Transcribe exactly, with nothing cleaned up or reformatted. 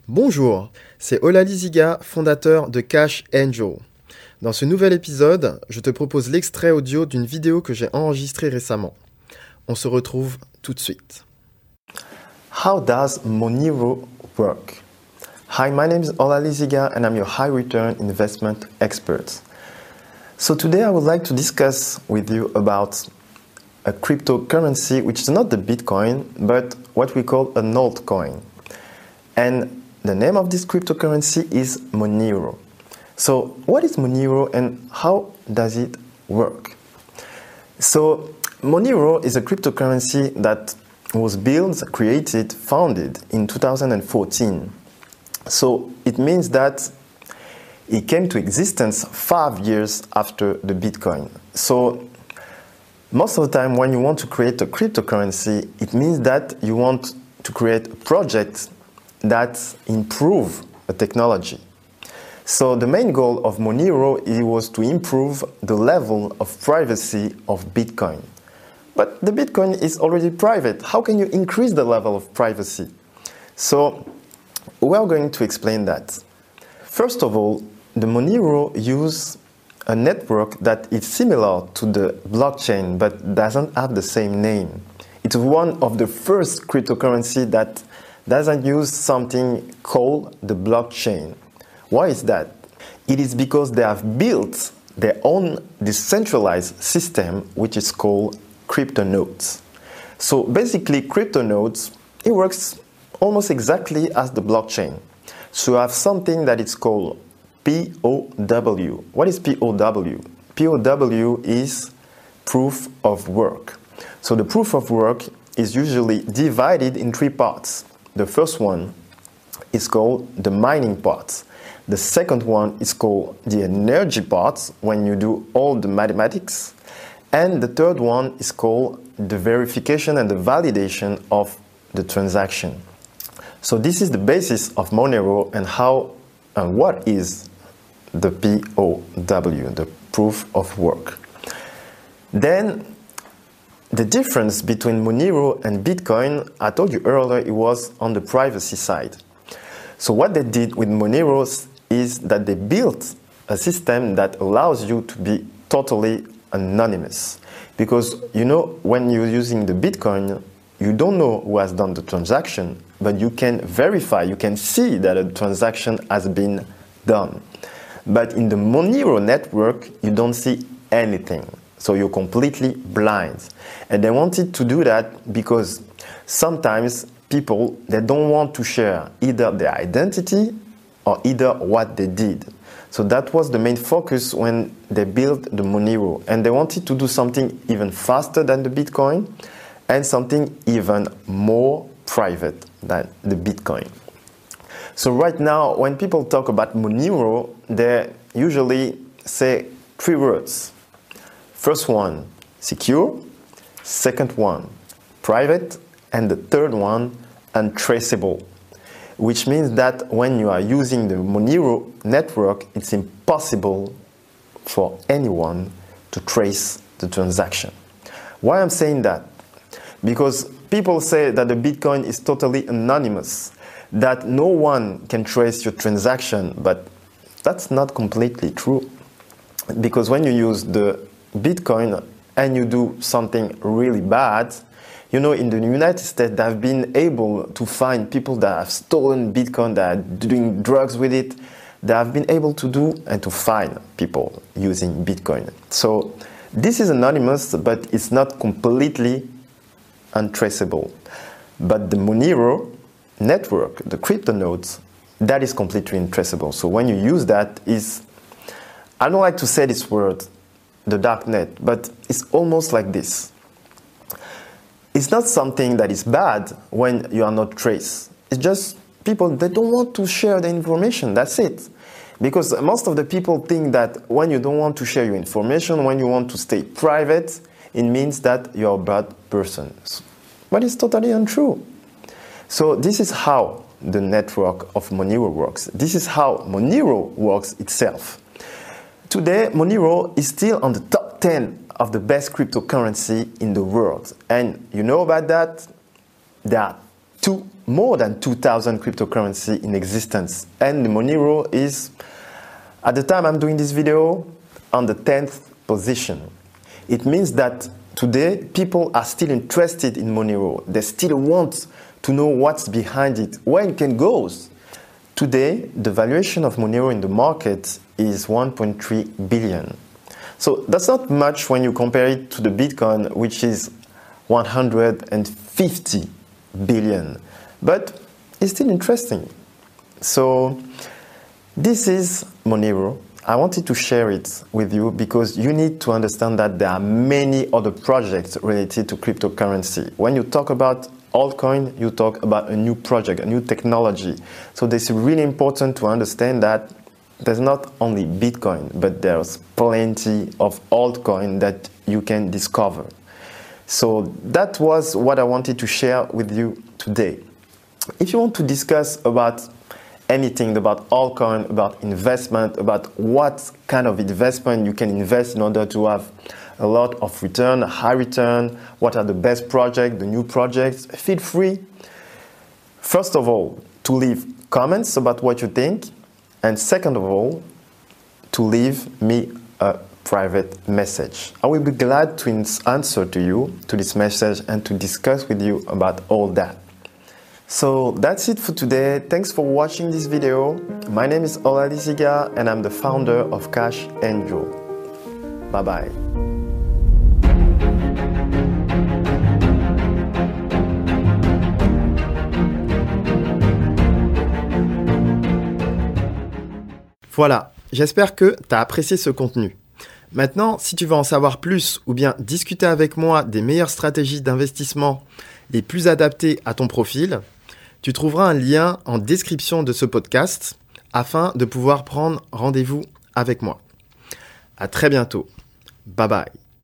Bonjour, c'est Olali Ziga, fondateur de Cash Angel. Dans ce nouvel épisode, je te propose l'extrait audio d'une vidéo que j'ai enregistrée récemment. On se retrouve tout de suite. How does Monero work? Hi, my name is Olali Ziga and I'm your high return investment expert. So today I would like to discuss with you about a cryptocurrency which is not the Bitcoin but what we call an altcoin. And the name of this cryptocurrency is Monero. So what is Monero and how does it work? So Monero is a cryptocurrency that was built, created, founded in two thousand fourteen. So it means that it came to existence five years after the Bitcoin. So most of the time when you want to create a cryptocurrency, it means that you want to create a project that improve a technology. So the main goal of Monero it was to improve the level of privacy of Bitcoin. But the Bitcoin is already private. How can you increase the level of privacy? So we are going to explain that. First of all, the Monero uses a network that is similar to the blockchain but doesn't have the same name. It's one of the first cryptocurrency that doesn't use something called the blockchain. Why is that? It is because they have built their own decentralized system which is called CryptoNodes. So basically CryptoNodes, it works almost exactly as the blockchain. So you have something that is called P O W. What is P O W? P O W is proof of work. So the proof of work is usually divided in three parts. The first one is called the mining part. The second one is called the energy part, when you do all the mathematics. And the third one is called the verification and the validation of the transaction. So this is the basis of Monero and how and what is the P O W, the proof of work. Then the difference between Monero and Bitcoin, I told you earlier, it was on the privacy side. So what they did with Monero is that they built a system that allows you to be totally anonymous. Because, you know, when you're using the Bitcoin, you don't know who has done the transaction, but you can verify, you can see that a transaction has been done. But in the Monero network, you don't see anything. So you're completely blind. And they wanted to do that because sometimes people, they don't want to share either their identity or either what they did. So that was the main focus when they built the Monero. And they wanted to do something even faster than the Bitcoin and something even more private than the Bitcoin. So right now, when people talk about Monero, they usually say three words. First one, secure. Second one, private. And the third one, untraceable. Which means that when you are using the Monero network, it's impossible for anyone to trace the transaction. Why I'm saying that? Because people say that the Bitcoin is totally anonymous, that no one can trace your transaction, but that's not completely true. Because when you use the Bitcoin and you do something really bad, you know, in the United States, they've been able to find people that have stolen Bitcoin, that are doing drugs with it. They have been able to do and to find people using Bitcoin. So this is anonymous, but it's not completely untraceable. But the Monero network, the CryptoNodes, that is completely untraceable. So when you use that, is I don't like to say this word, the dark net, but it's almost like this. It's not something that is bad when you are not traced. It's just people, they don't want to share the information, that's it. Because most of the people think that when you don't want to share your information, when you want to stay private, it means that you're a bad person. But it's totally untrue. So this is how the network of Monero works. This is how Monero works itself. Today, Monero is still on the top ten of the best cryptocurrency in the world. And you know about that? There are two, more than two thousand cryptocurrency in existence. And Monero is, at the time I'm doing this video, on the tenth position. It means that today people are still interested in Monero. They still want to know what's behind it, where it can go. Today, the valuation of Monero in the market is one point three billion. So that's not much when you compare it to the Bitcoin, which is one hundred fifty billion. But it's still interesting. So this is Monero. I wanted to share it with you because you need to understand that there are many other projects related to cryptocurrency. When you talk about altcoin, you talk about a new project, a new technology. So it's really important to understand that there's not only Bitcoin, but there's plenty of altcoin that you can discover. So that was what I wanted to share with you today. If you want to discuss about anything about altcoin, about investment, about what kind of investment you can invest in order to have a lot of return, a high return, what are the best projects, the new projects, feel free, first of all, to leave comments about what you think, and second of all, to leave me a private message. I will be glad to answer to you, to this message, and to discuss with you about all that. So that's it for today. Thanks for watching this video. My name is Ola Liziga and I'm the founder of Cash Angel. Bye bye. Voilà, j'espère que tu as apprécié ce contenu. Maintenant, si tu veux en savoir plus ou bien discuter avec moi des meilleures stratégies d'investissement les plus adaptées à ton profil, tu trouveras un lien en description de ce podcast afin de pouvoir prendre rendez-vous avec moi. À très bientôt. Bye bye.